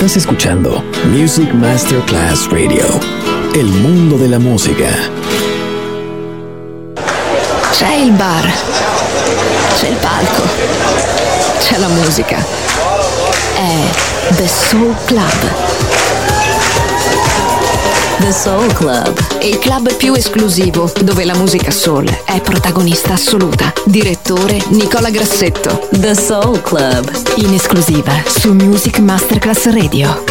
Estás escuchando Music Masterclass Radio, el mundo de la música. C'è il bar, c'è il palco, c'è la musica. È The Soul Club. The Soul Club, il club più esclusivo dove la musica soul è protagonista assoluta. Direttore Nicola Grassetto. The Soul Club, in esclusiva su Music Masterclass Radio.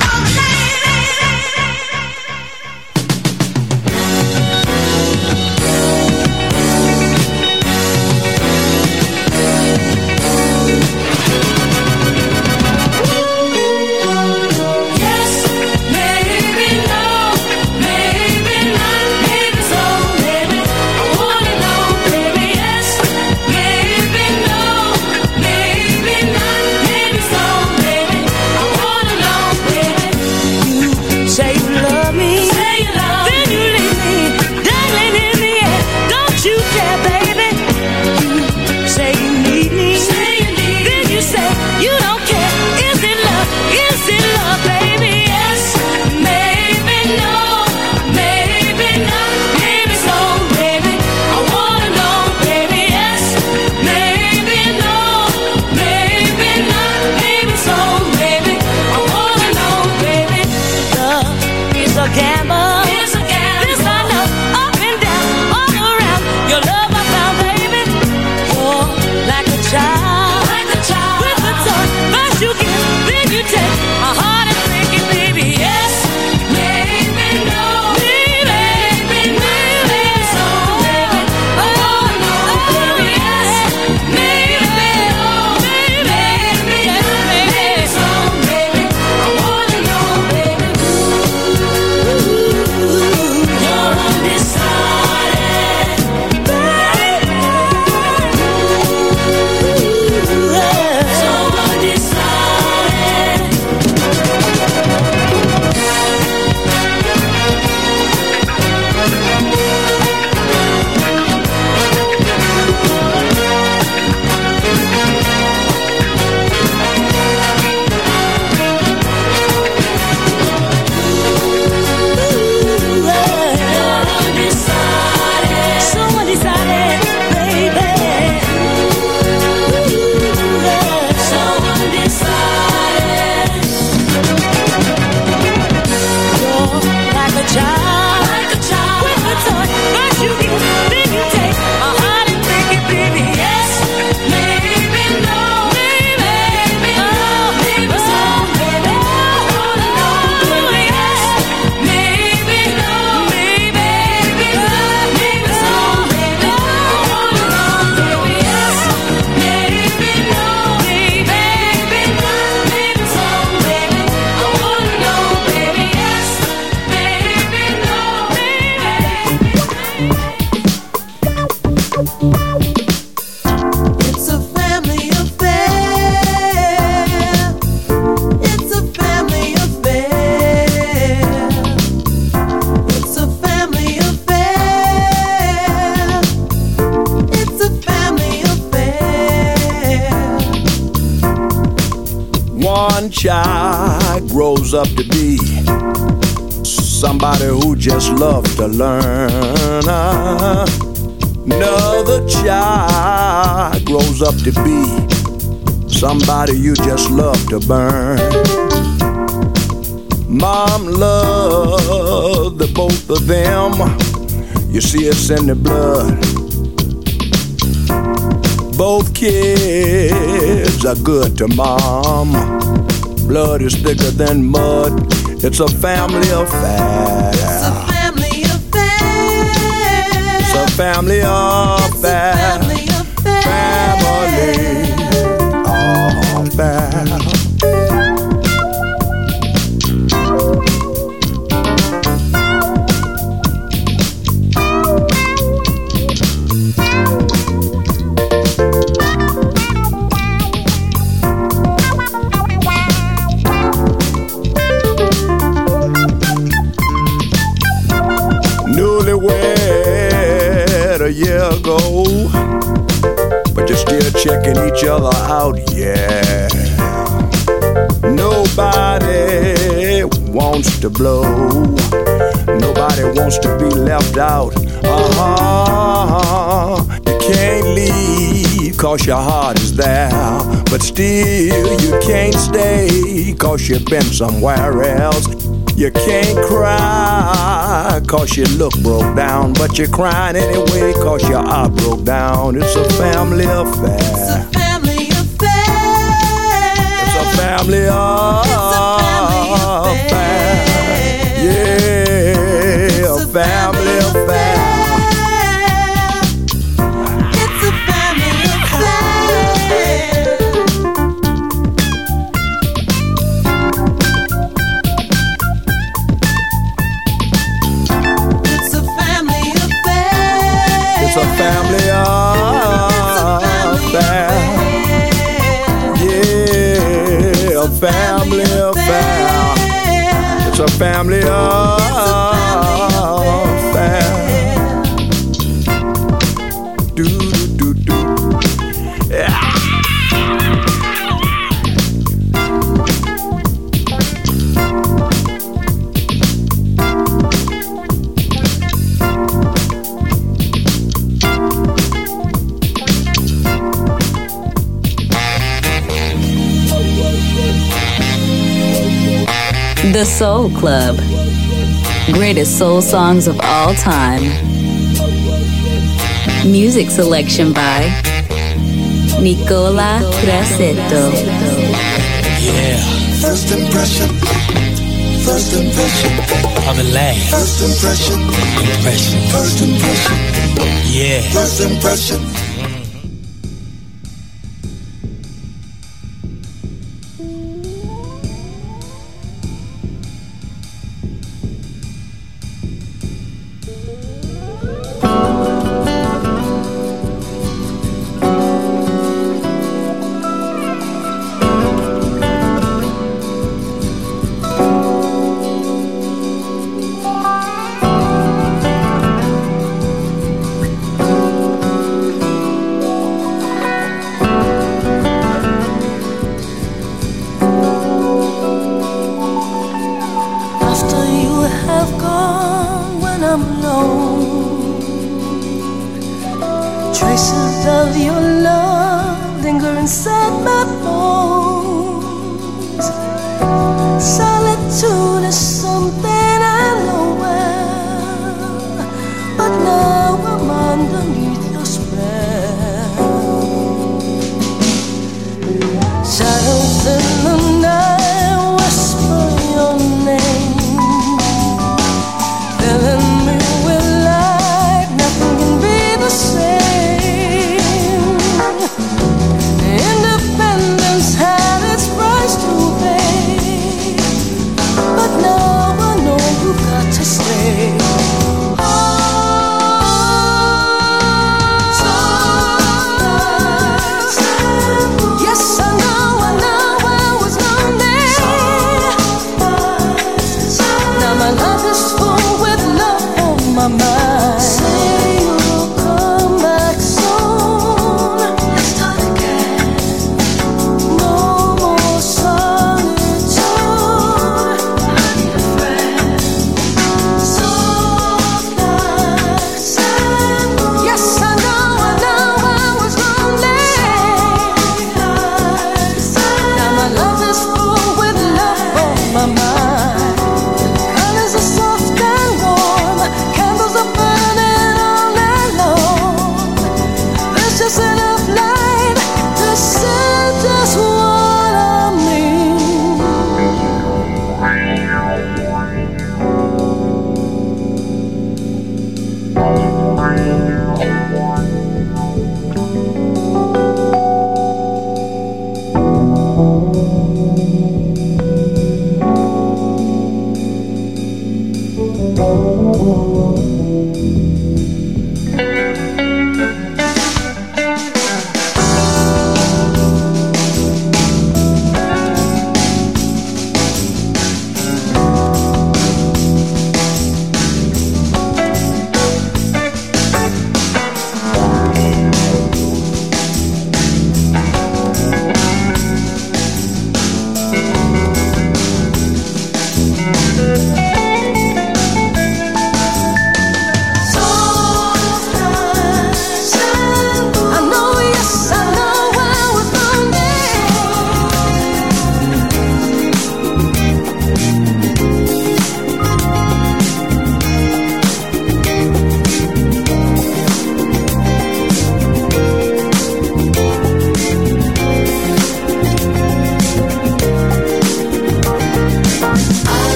Child grows up to be somebody who just loves to learn. Another child grows up to be somebody you just love to burn. Mom loved the both of them. You see, it's in the blood. Both kids are good to mom. Blood is thicker than mud. It's a family affair. It's a family affair. It's a family affair. It's a family affair. Family affair. A year ago, but you're still checking each other out, yeah. Nobody wants to blow. Nobody wants to be left out. You can't leave 'cause your heart is there, but still you can't stay 'cause you've been somewhere else. You can't cry 'cause you look broke down, but you're crying anyway 'cause your heart broke down. It's a family affair. It's a family affair. It's a family affair. Yeah, a family affair. It's a family affair. It's a family affair. It's a family affair. Yeah, a family affair. It's a family affair. Do do do do. Yeah. The Soul Club. Greatest soul songs of all time. Music selection by Nicola Grassetto. Yeah. First impression. First impression. Of the last. First impression. Impression. First impression. Yeah. First impression.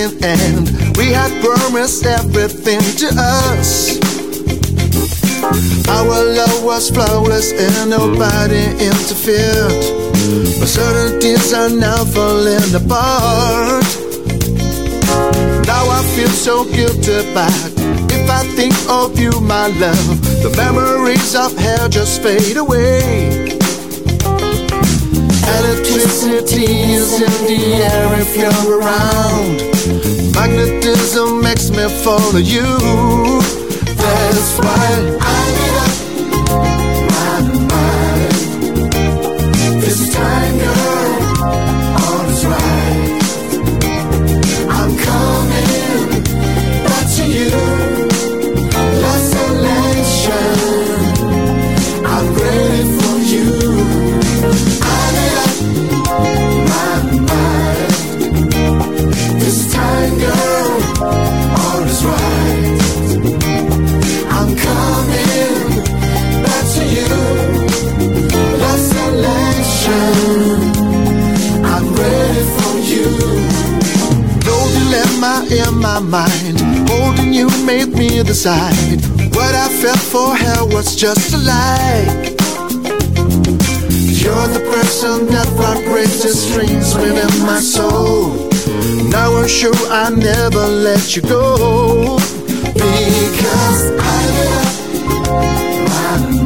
beginning, and we had promised everything to us. Our love was flawless and nobody interfered, but certainties are now falling apart. Now I feel so guilty back. If I think of you, my love, the memories of hell just fade away. Electricity is in the air if you're around. Magnetism makes me follow you. That's why I made up my mind. This time, girl, all is right. I'm coming back to you. Lost selection, I'm ready for you. I made up my mind. This time, girl, all is right. I'm coming back to you. Lost selection, I'm ready for you. No dilemma in my mind. Holding you made me decide. What I felt for her was just a lie. You're the person that vibrates the strings within my soul. Now I'm sure I never let you go. Because I made up my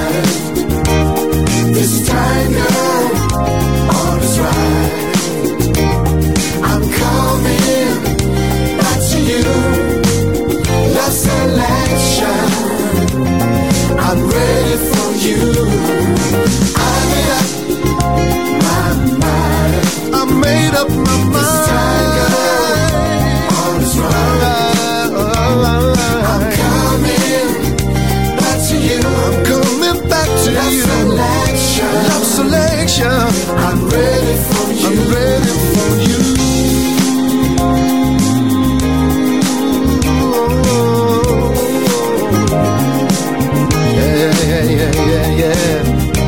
mind. This time, girl, all is right. I'm coming back to you. Lost selection, I'm ready for you. I made up my mind. I made up my mind. This time, girl, all is right. I'm coming back to you. I'm coming back to you. Love selection. I'm ready for you. I'm ready for you. Yeah.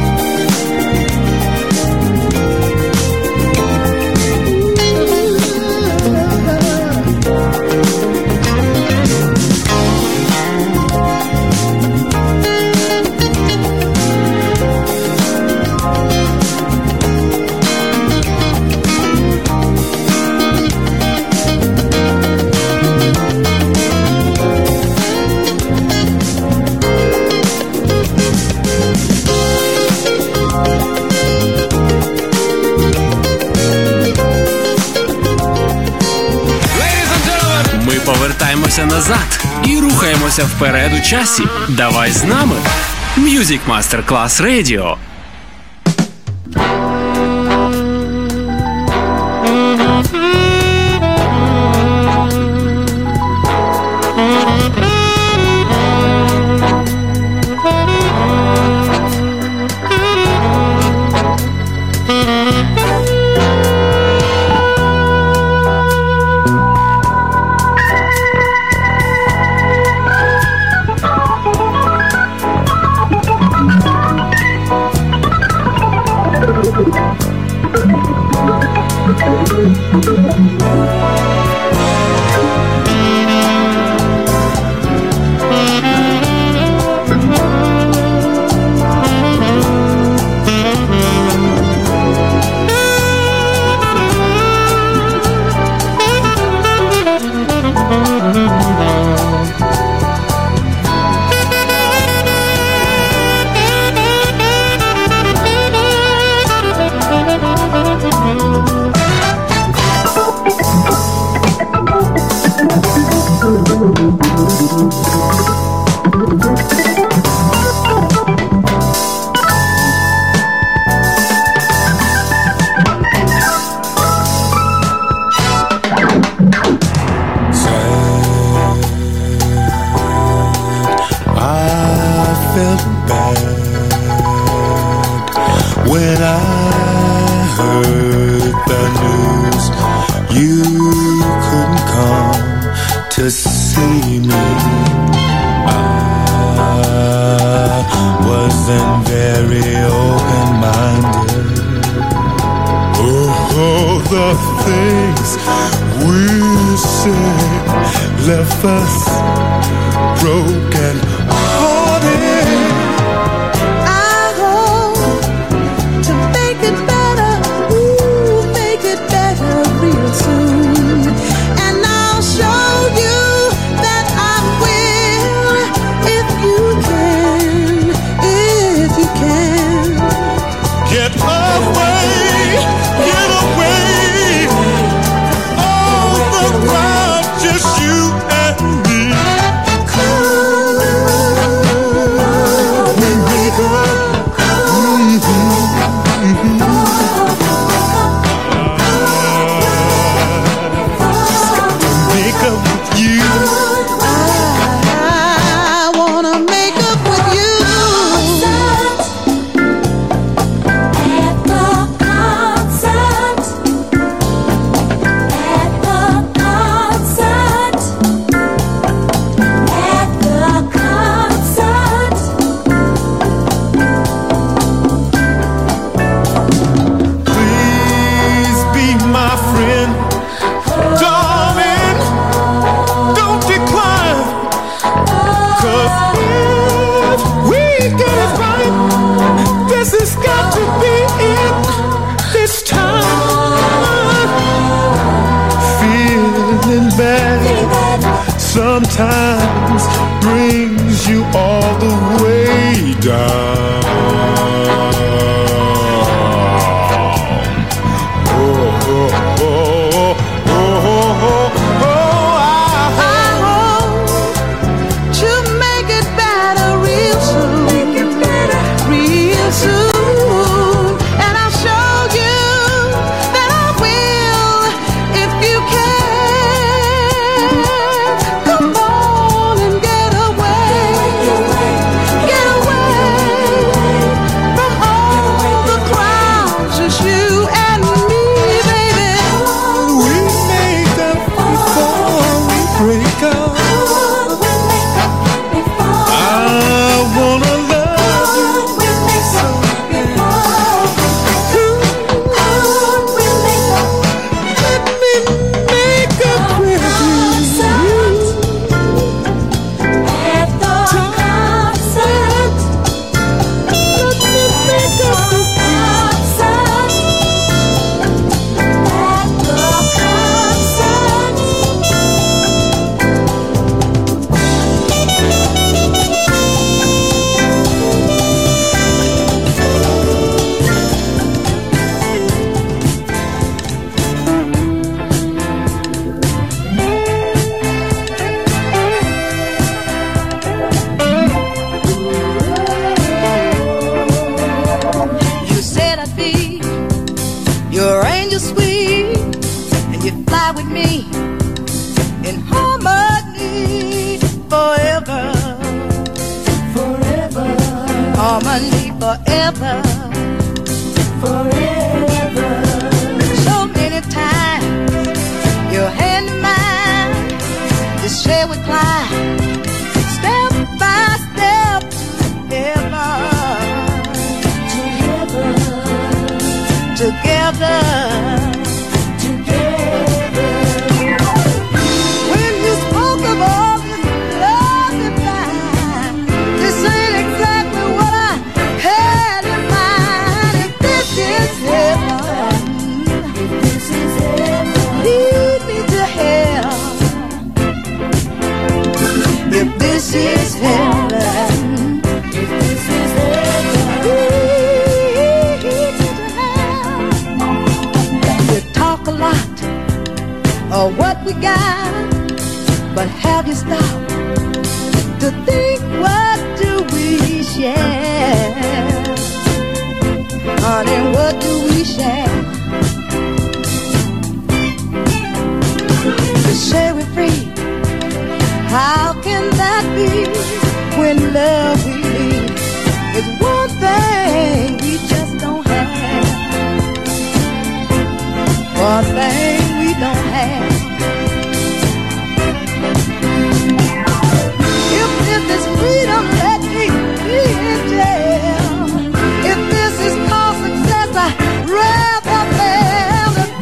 Повертаємося назад і рухаємося вперед у часі. Давай з нами. Music Masterclass Radio. When I heard the news, you couldn't come to see me. I wasn't very open-minded. Oh. all the things we said left us broken hearted. I hope to make it better, ooh, make it better real soon. And I'll show you that I will, if you can. Get away, get away, all the crowd, just you and me. We make up, just got to make up with you. I wanna make up with you. Please be my friend, darling, don't decline. 'Cause if we get it right, this has got to be it this time. Feeling bad sometimes brings you all the way down. I hope to make it better real soon. Real soon. And I'll show you that I will, if you can. Come on and get away. Get away from all the crowds. Just you and me, baby. We made up before we break up. I wanna love you so bad. Let me make up with you. At the concert. Let me make up with you. At the concert. You said I'd be your angel sweet, and you'd fly with me in harmony forever. Forever. Harmony forever. Forever. So many times your hand in mine, to share with Clyde, step by step together. Together. When you spoke of all this love divine, this ain't exactly what I had in mind. If this is heaven, lead me to hell. If this is heaven, you talk a lot of what we got, but have you stopped to think what do we share? Honey, what do we share? To share it free. How can that be when love we need is one thing we just don't have? One thing we don't have. If this is freedom, let me be in jail. If this is called success, I'd rather fail than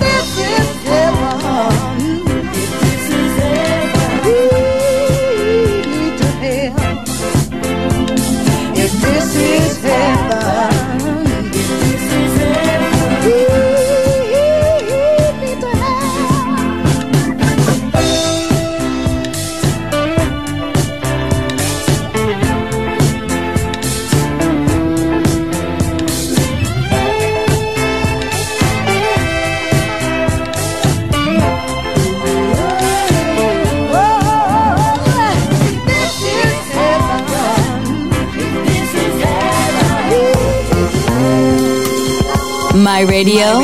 My radio,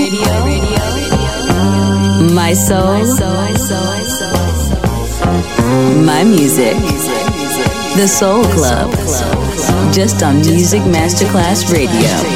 my soul, my music. The Soul Club. Just on Music Masterclass Radio.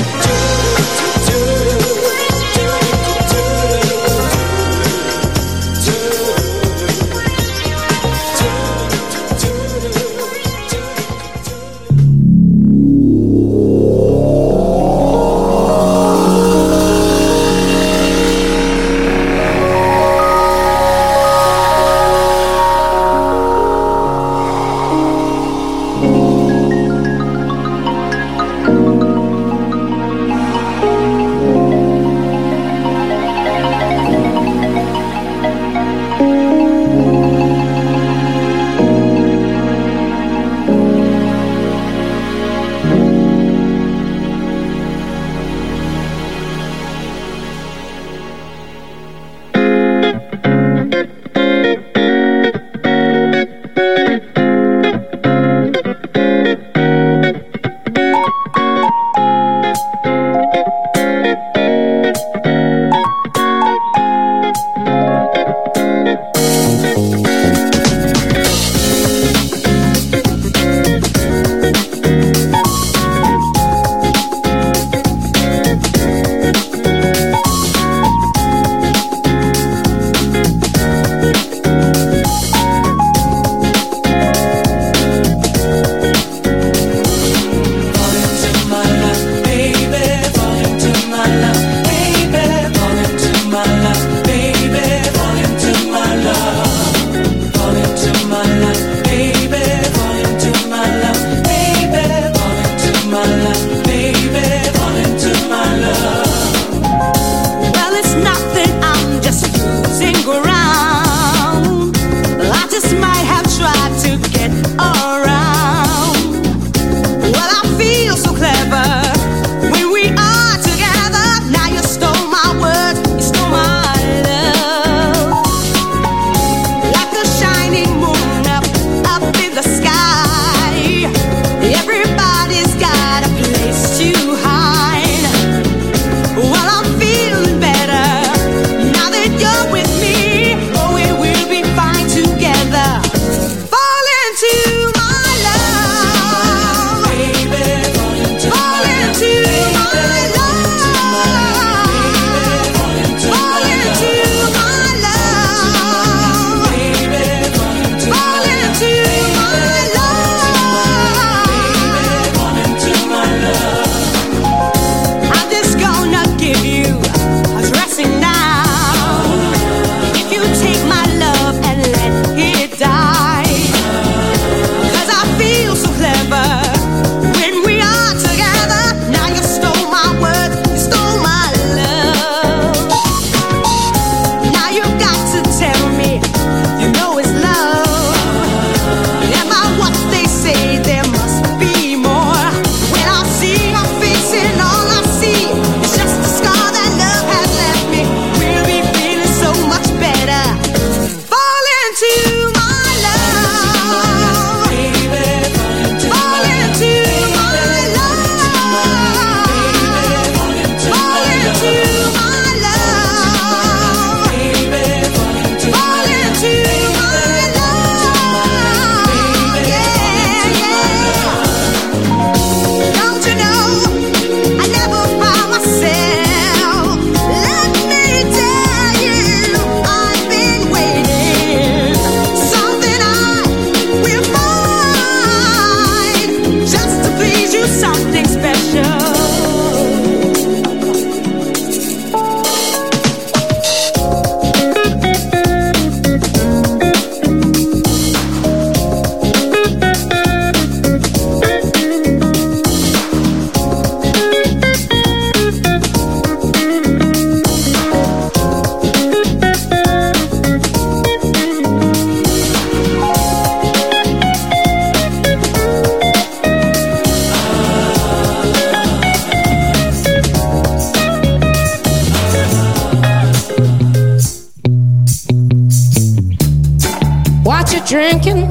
Drinking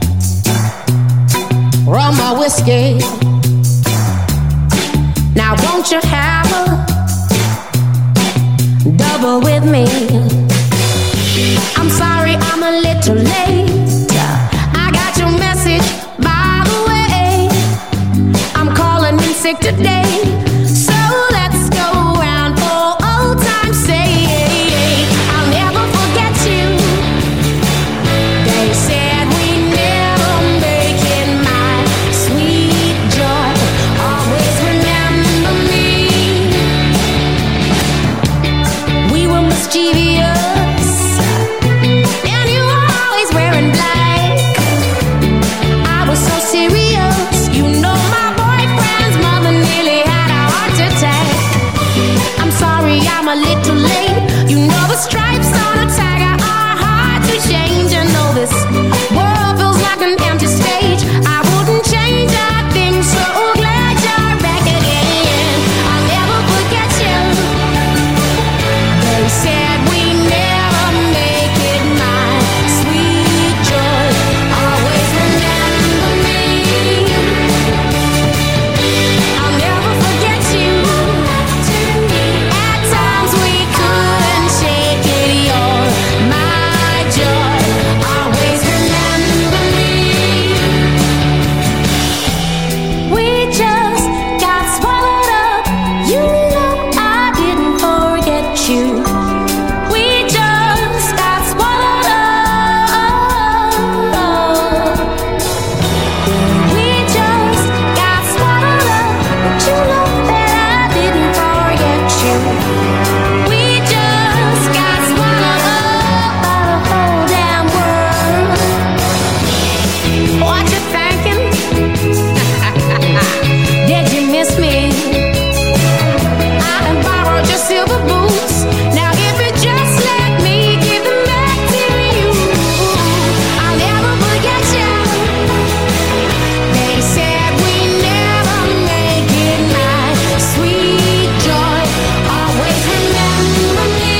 rum or whiskey. Now won't you have a trouble with me. I'm sorry I'm a little late. I got your message, by the way. I'm calling in sick today, so let's go round for old time's sake. I'll never forget you. They said we never make it, my sweet joy. Always remember me. We were mischievous, and you were always wearing black. I was so serious, you know my boyfriend's mother nearly had a heart attack. I'm sorry I'm a little late. You know the stripes on a tiger are hard to change. I know this world feels like an empty stage. I wouldn't change a thing, so glad you're back again. I'll never forget you. They said we never make it, my sweet joy. Always remember me. I'll never forget you. At times we couldn't shake it. You're my joy. Always remember me. We just got swallowed up. You know I didn't forget you. We just got swallowed up. We just got swallowed up. But you know that I didn't forget you. We just got swallowed up by the whole damn world. What you thinking? Did you miss me? I have borrowed your silver boots. Now if you just let me give them back to you, I'll never forget you. They said we never make it, my sweet joy. Always remember me.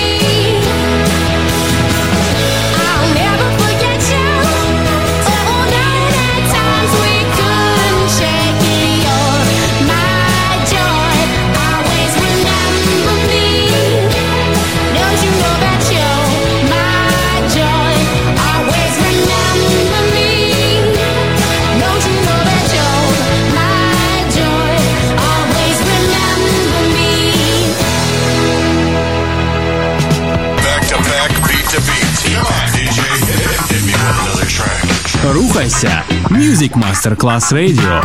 I'll never forget you. Oh, night at times we couldn't shake it. You're my joy. Always remember me. Don't you know that you're my joy? Always remember me. Don't you know that you're my joy? Always remember me. Back to back, beat to beat. Come on, DJ, hit me with another track. Рухайся. Music Master Class Radio.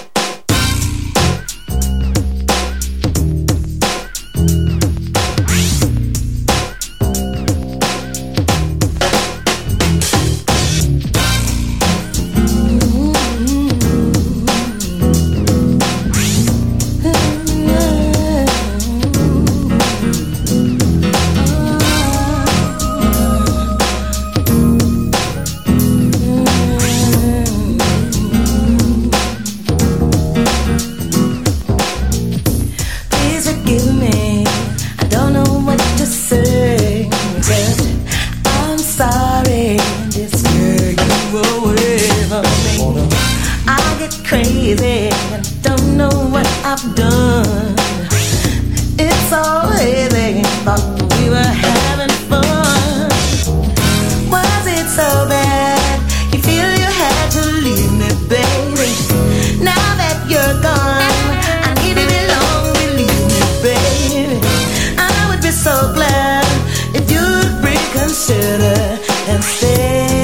Please forgive me. I don't know what to say. But I'm sorry. This girl you away from me. I get crazy. I don't know what I've done. It's so hazy. Thought we were having fun. Was it so bad? You feel you had to leave me, baby. Now that you're gone, I need to belong. Believe me, baby. I would be so glad if you'd reconsider and stay.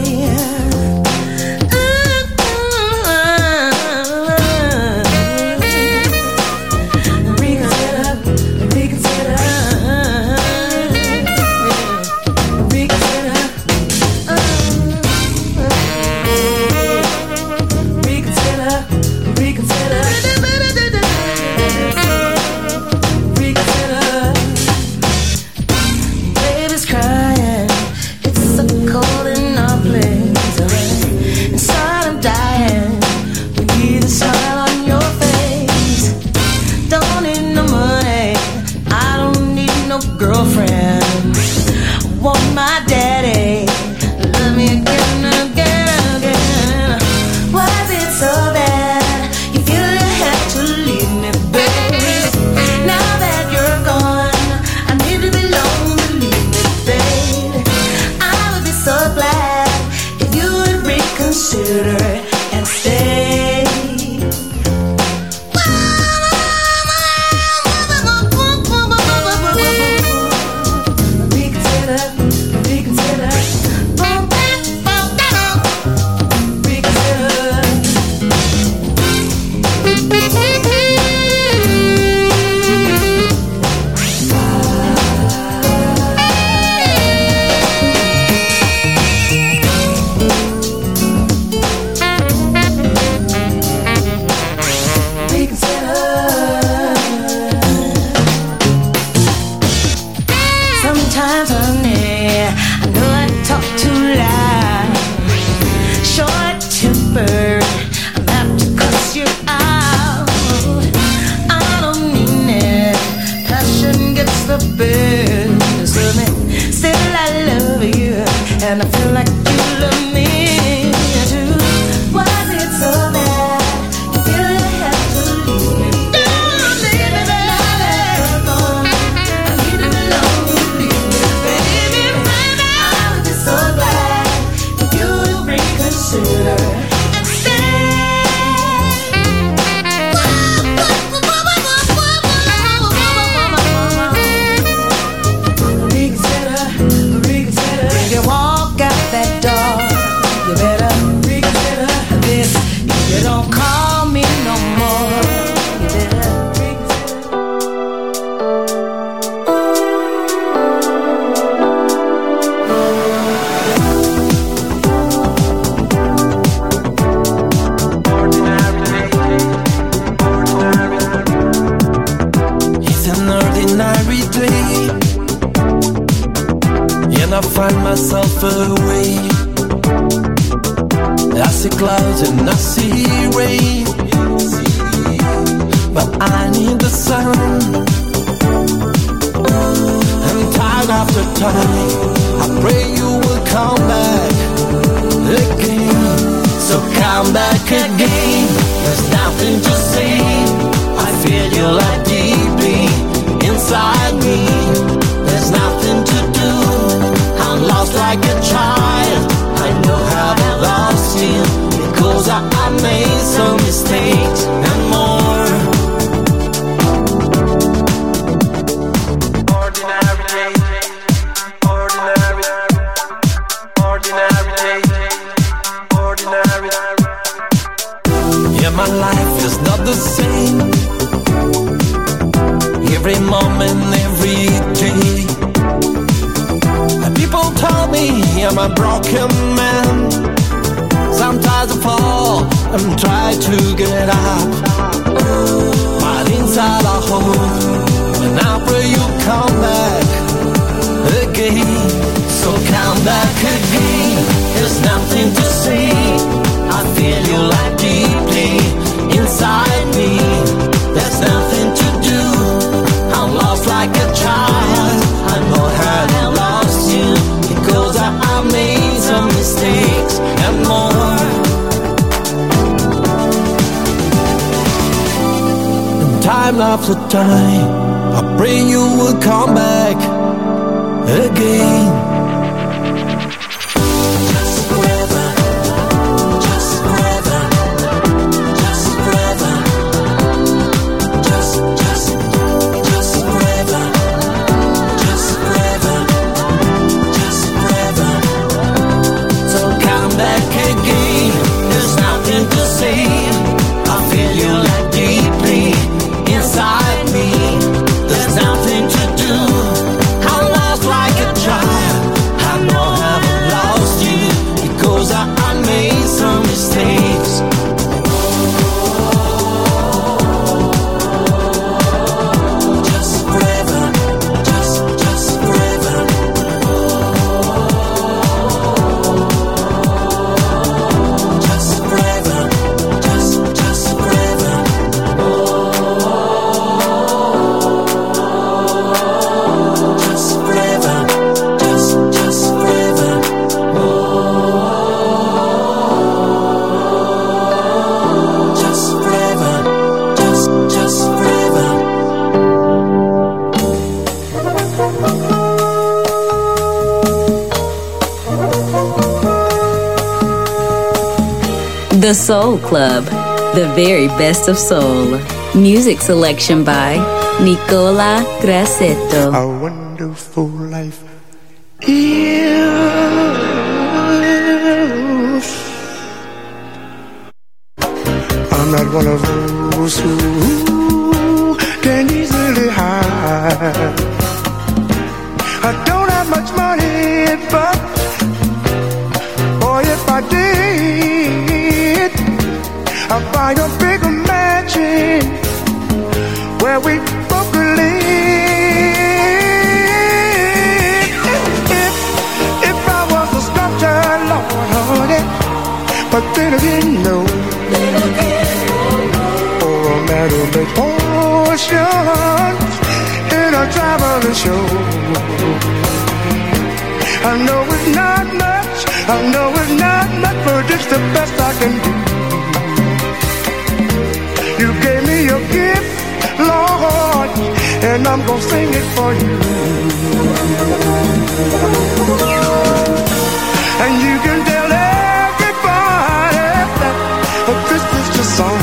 Baby's crying. It's so cold in our place. Inside I'm dying. We need a smile on your face. Don't need no money. I don't need no girlfriend. I want my daddy. Love me again, again, again. Was it so bad? You feel you had to leave me, baby. Now that you're gone, I need to belong. Time after time, I pray you will come back again. The Soul Club, the very best of soul. Music selection by Nicola Grassetto. A wonderful life I'm not one of those who can easily hide. I don't have much money, but boy, if I did, I'd buy a bigger mansion where we both could live. If I was a sculptor, Lord, honey, but then again, no. Or a man who makes potions in a traveling show. I know it's not much, I know it's not much, but it's the best I can do. You gave me your gift, Lord, and I'm gonna sing it for you. And you can tell everybody that this is your song.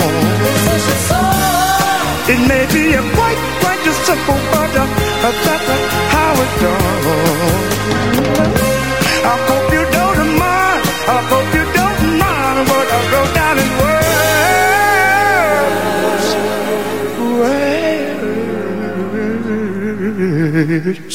It may be a quite a simple, but that's how it's done. I hope you don't mind, I hope you don't mind what I wrote down in words.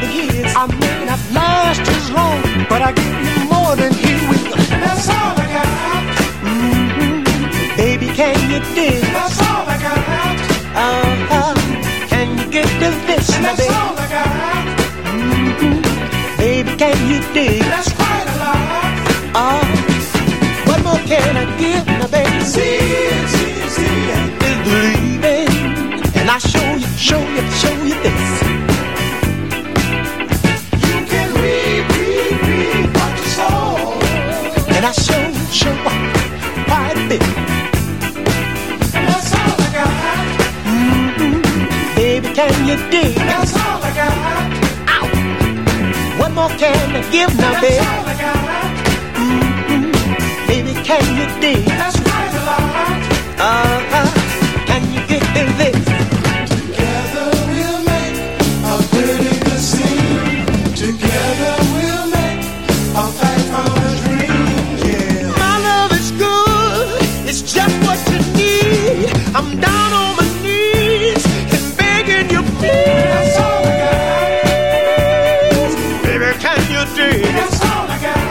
years. I may not last as long, but I give you more than he will. That's all I got. Baby, can you dig? That's all I got. Can you get to this, my baby? That's all I got. Baby, can you dig? That's quite a lot. What more can I give, my baby? See is believing, and I show you this. You can read what you saw, and I show quite a bit. That's all I got. Baby, can you dig? That's all I got. Ow. What more can I give now, baby? That's all I got. Baby, can you dig? That's quite a lot. Can you get in this? Together we'll make a pretty good scene. Together we'll make a fight for a dream. Yeah. My love is good. It's just what you need. I'm down on my knees and begging you, please. That's all I got. Baby, can you dig? That's all I got.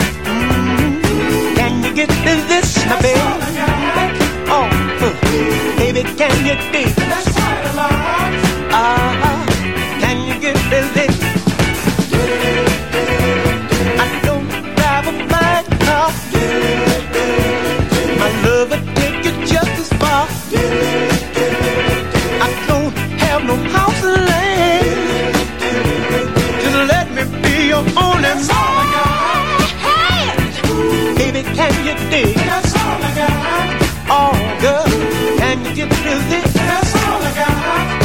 Can you get in this, my baby? Baby, can you dig? That's quite a lot. Can you get this? I don't drive a fine car. My love will take you just as far. I don't have no house and land. Just let me be your only man. Baby, can you dig? That's all I got. Oh, girl. Can you get to this? That's all I got.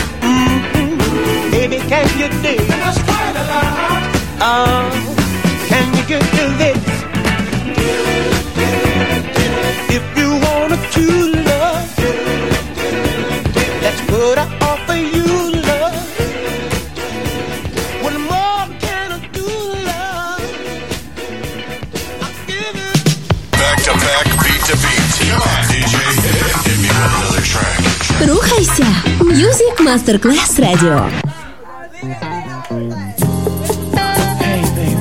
Baby, can you dig? That's quite a lot. Can you get to this? If you want a true love, that's what I offer you, love. What more can I do, love? I'll give it. Back to back, beat to beat. Come on, DJ. Hit me with another track. Рухайся! Music Masterclass Radio. Hey, baby.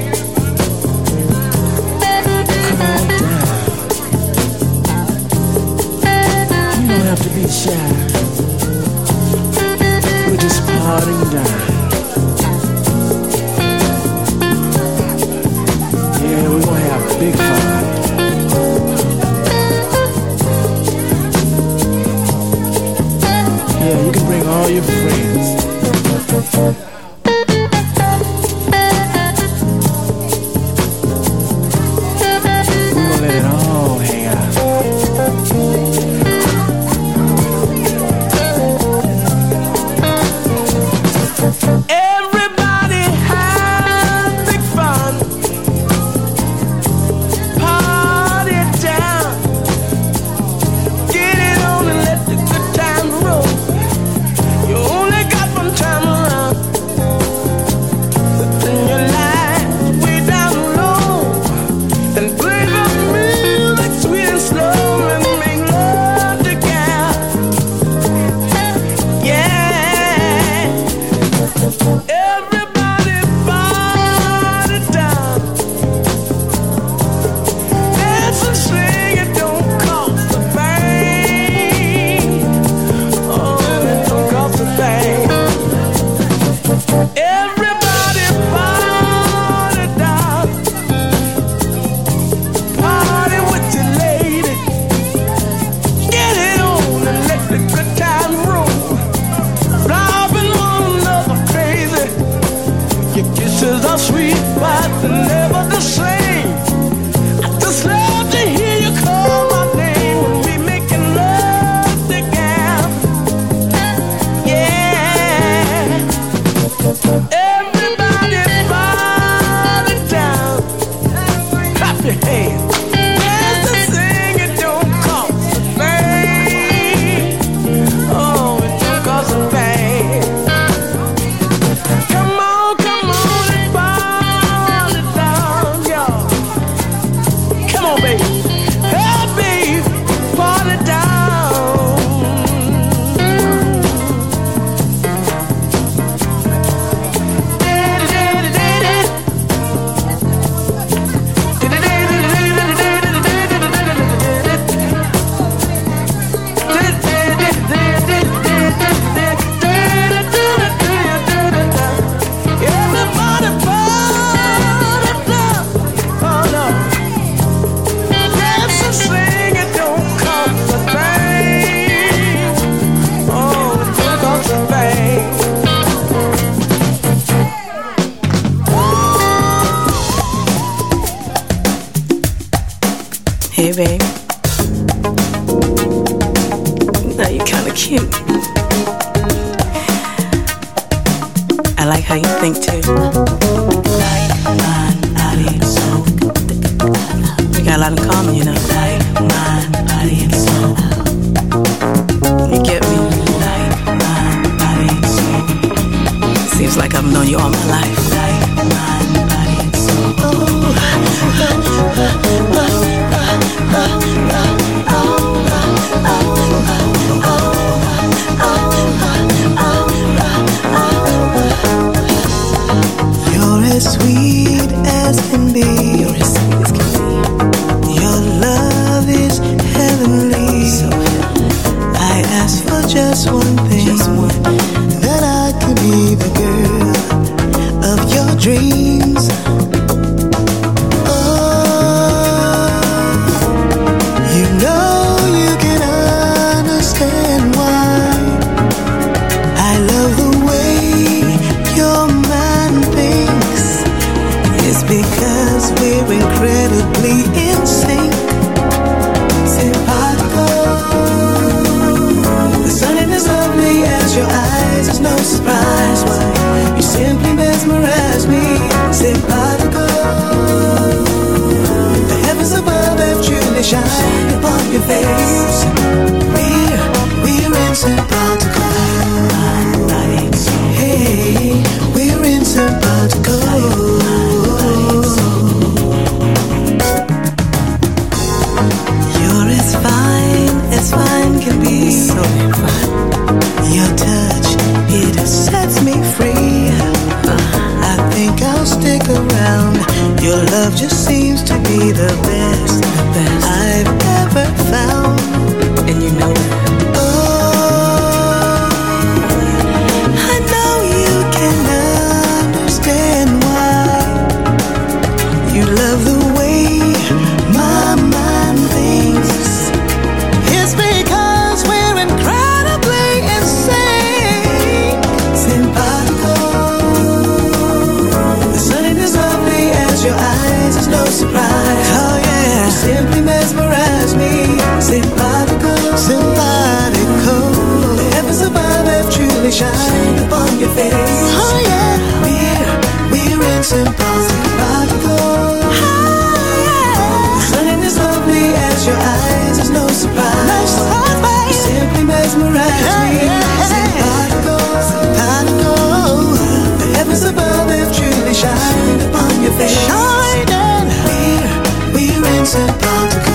Come on down. You don't have to be shy. We're just partying down. Yeah, we're gonna have big fun. Yeah, you can bring all your friends. We're gonna let it all hang out. Everybody have big fun. Party down. Get it on and let the good times roll. You only got one time around. In your life, way down low. And play the music sweet and slow and make love together. Yeah. Everybody party down. Dance and sing, it don't cost a thing. Oh, it don't cost a thing. Everybody party down. Party with your lady. Get it on and let the good time roll. Driving one another crazy. Your kisses are sweet, but they're never the same. I just love to hear you call my name when we making love together. Yeah. Everybody party down. Clap your hands. Dance and sing, it don't cost a thing. Oh, it don't cost a thing. Come on and party down. Hey, babe. Now you're kind of cute. I like how you think too. Like mine, body and soul. We got a lot in common, you know. Like mine, body and soul. You get me? Like mine, body and soul. Seems like I've known you all my life. Like mine, body and soul. You're as sweet as can be. You're as sweet as can be. Your love is heavenly. I ask for just one thing, that I could be the girl of your dreams. You know you can understand why I love the way your mind thinks. It's because we're incredibly in sync. Simpatico. The sun is lovely as your eyes. It's no surprise why you simply mesmerize me. Simpatico. The heavens above have truly shined upon your face. We're in simpatico. Hey, we're in simpatico. You're as fine can be. So fine. Your touch, it sets me free. I think I'll stick around. Your love just seems to be the best I've ever found. And you know that. Oh, I know you can understand why you love the way my mind thinks. It's because we're incredibly insane. Simpatico. The sun is lovely as your eyes. It's no surprise. Oh yeah. You simply mesmerize me. Simpatico. Simpatico. The heavens above have truly shined upon your face. Oh yeah. We're in simpatico. Oh yeah. The sun is lovely as your eyes. It's no surprise. No surprise. You simply mesmerize me. Simpatico. Simpatico. The heavens above have truly shined upon your face. Shining. We're in simpatico.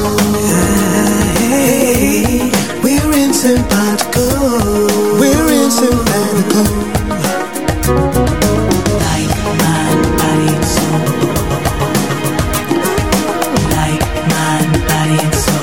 Hey, we're in simpatico. We're in simpatico. Like mind, body and soul. Like mind, body and soul.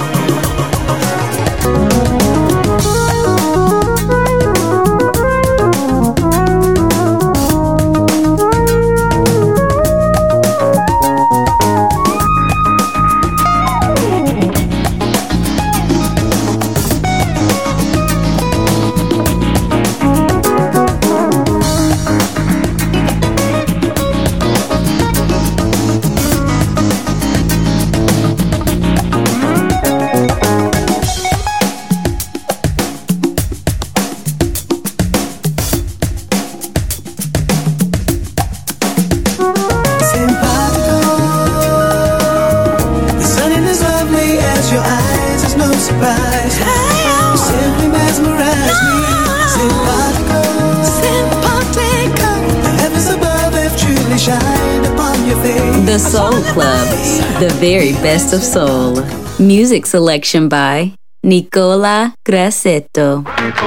The Soul Club, the very best of soul. Music selection by Nicola Grassetto.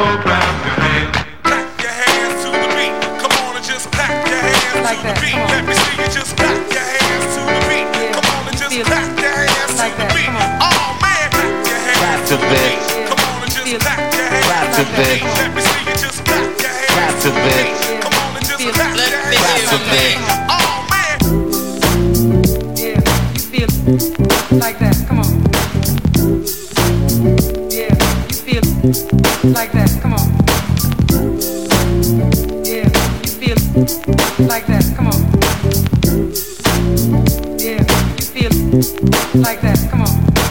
Like that, come on. Yeah, you feel like that, come on. Yeah, you feel like that, come on. Yeah, you feel like that, come on.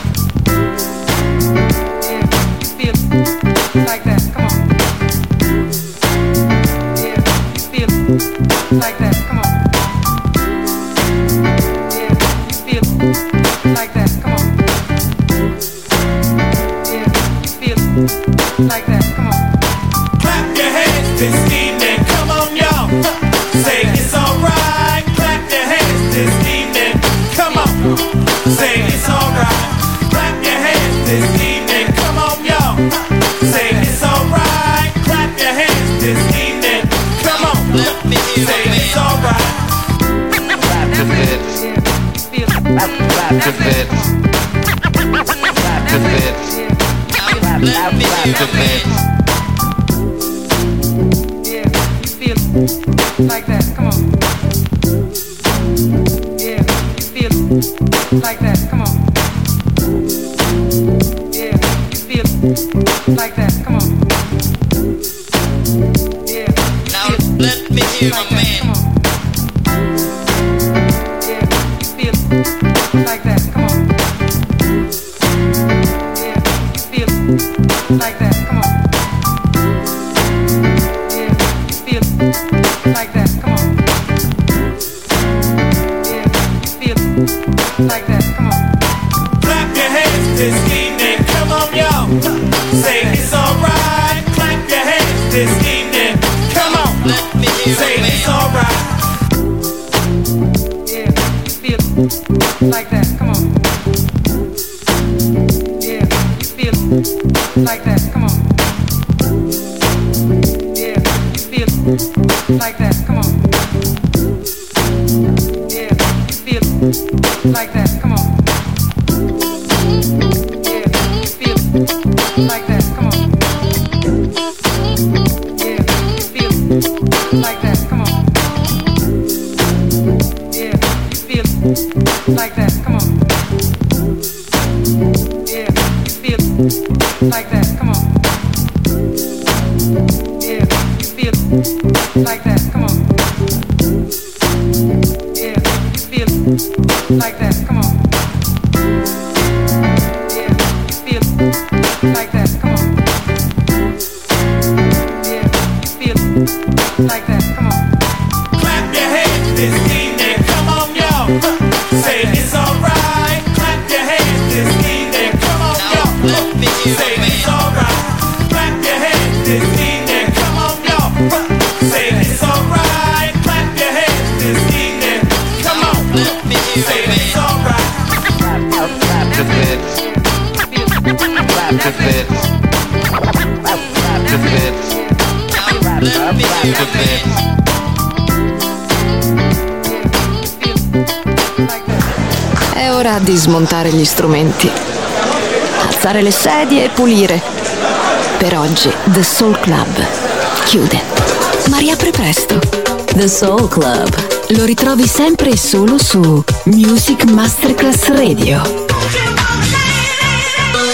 like that, come on. Yeah, you feel like that, come on. Yeah, you feel like that, come on. Clap your hands this evening, come on y'all. Say it's alright. Clap your hands this evening, come on. Say it's alright. Clap your hands this evening, come on y'all. Say it's alright. Clap your hands this evening, come on. Say it's alright. Clap your hands. Clap your hands. Clap your hands. Clap your hands. Like that, come on. Yeah, you feel like that, come on. Yeah, you feel like that, come on. Yeah, now let me hear my man. Yeah, you feel like that, come on. Yeah, you feel like that, come on. Like that, come on. Yeah, feel like that, come on. Clap your hands this evening, come on y'all. Say it's alright. Clap your hands this evening, come on. Say it's alright. Yeah, feel like that, come on. Yeah, feel like that, come on. Yeah, feel like that, come on. Yeah, feel like that, come on. Yeah, feel like that, come on. Yeah, feel like that, come on. Yeah, feel like that, come on. Yeah, feel like that, come on. Yeah, feel like that, come on. Yeah, feel like that, come on. Yeah, feel like that, come on. Yeah, feel like that, come on. Clap your hands this evening, come on y'all. Say it's alright. Clap your hands this evening, come on y'all. Say it's alright. Clap your hands this evening, come on y'all. Say it's alright. Clap your hands this evening, come on. Say it's alright. Clap your hands. Clap your hands. Clap your hands. Clap your hands. È ora di smontare gli strumenti, alzare le sedie e pulire. Per oggi The Soul Club chiude, ma riapre presto. The Soul Club lo ritrovi sempre e solo su Music Masterclass Radio.